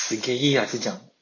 すげえいい味じゃん。